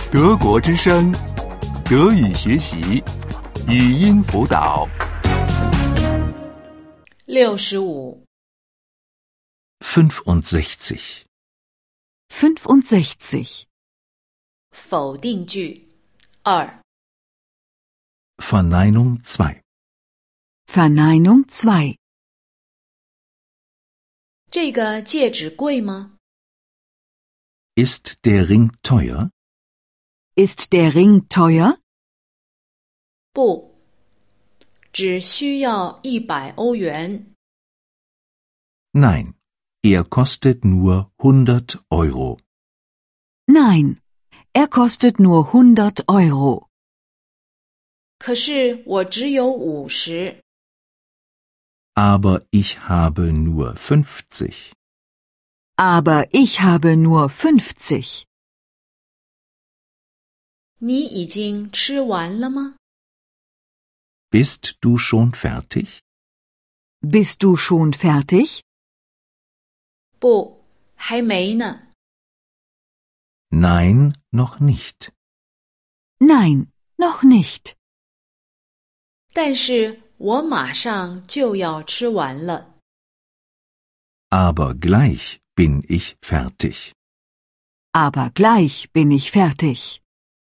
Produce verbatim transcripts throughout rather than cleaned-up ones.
德国之声，德语学习，语音辅导。 六十五。 fünfundsechzig. fünfundsechzig. 否定句二。 Verneinung zwei. Verneinung zwei. 这个戒指贵吗？ Ist der Ring teuer? Ist der Ring teuer? 不，只需要一百欧元。 Nein, er kostet nur hundert Euro. Nein, er kostet nur hundert Euro. 可是我只有五十。 Aber ich habe nur fünfzig. Aber ich habe nur fünfzig. 你已经吃完了吗？ Bist du schon fertig? Bist du schon fertig? 不，还没呢。 Nein, noch nicht. Nein, noch nicht. 但是我马上就要吃完了。 Aber gleich bin ich fertig. Aber gleich bin ich fertig.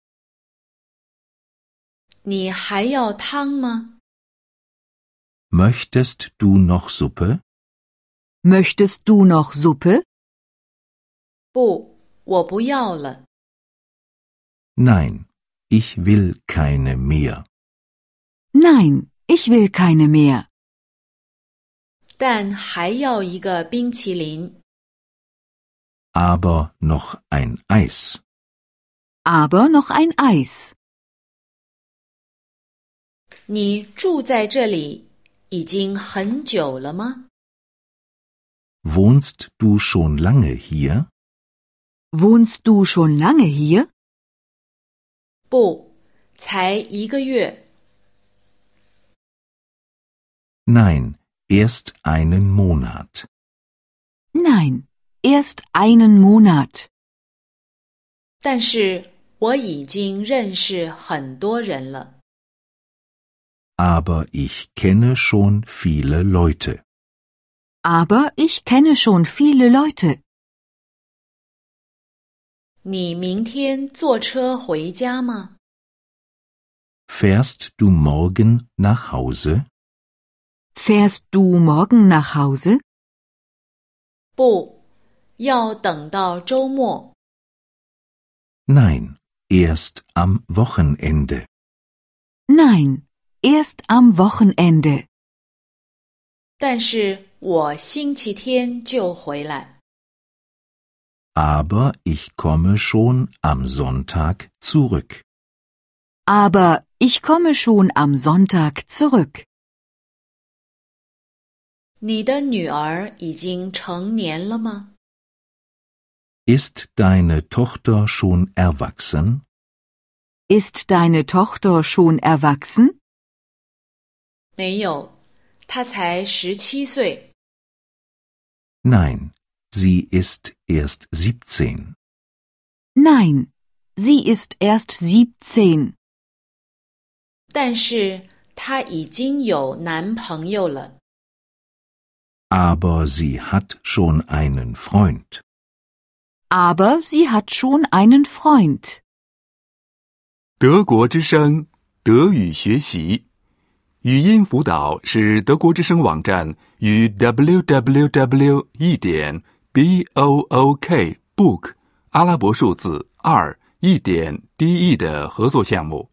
你还要汤吗？ Möchtest du noch Suppe? Möchtest du noch Suppe? 不，我不要了。 Nein, ich will keine mehr. Nein, ich will keine mehr. 但还要一个冰淇淋。 Aber noch ein Eis. Aber noch ein Eis. 你住在这里已经很久了吗？ Wohnst du schon lange hier? Wohnst du schon lange hier? 不，才一个月。 Nein, erst einen Monat. Nein, erst einen Monat. 但是我已经认识很多人了。 Aber ich kenne schon viele Leute. Aber ich kenne schon viele Leute. 你明天坐车回家吗？ Fährst du morgen nach Hause? Fährst du morgen nach Hause? 不，要等到周末。 Nein, erst am Wochenende. Nein, erst am Wochenende. 但是我星期天就回来。 Aber ich komme schon am Sonntag zurück. Aber ich komme schon am Sonntag zurück. 你的女儿已经成年了吗？ Ist deine Tochter schon erwachsen? Ist deine Tochter schon erwachsen? 没有，她才十七岁。 Nein, sie ist erst siebzehn. Nein, sie ist erst siebzehn. 但是她已经有男朋友了。 Aber sie hat schon einen Freund. Aber sie hat schon einen Freund. 德国之声，德语学习，语音辅导是德国之声网站与 double-u double-u double-u 一点 b o o k book 阿拉伯数字二一点 d e 的合作项目。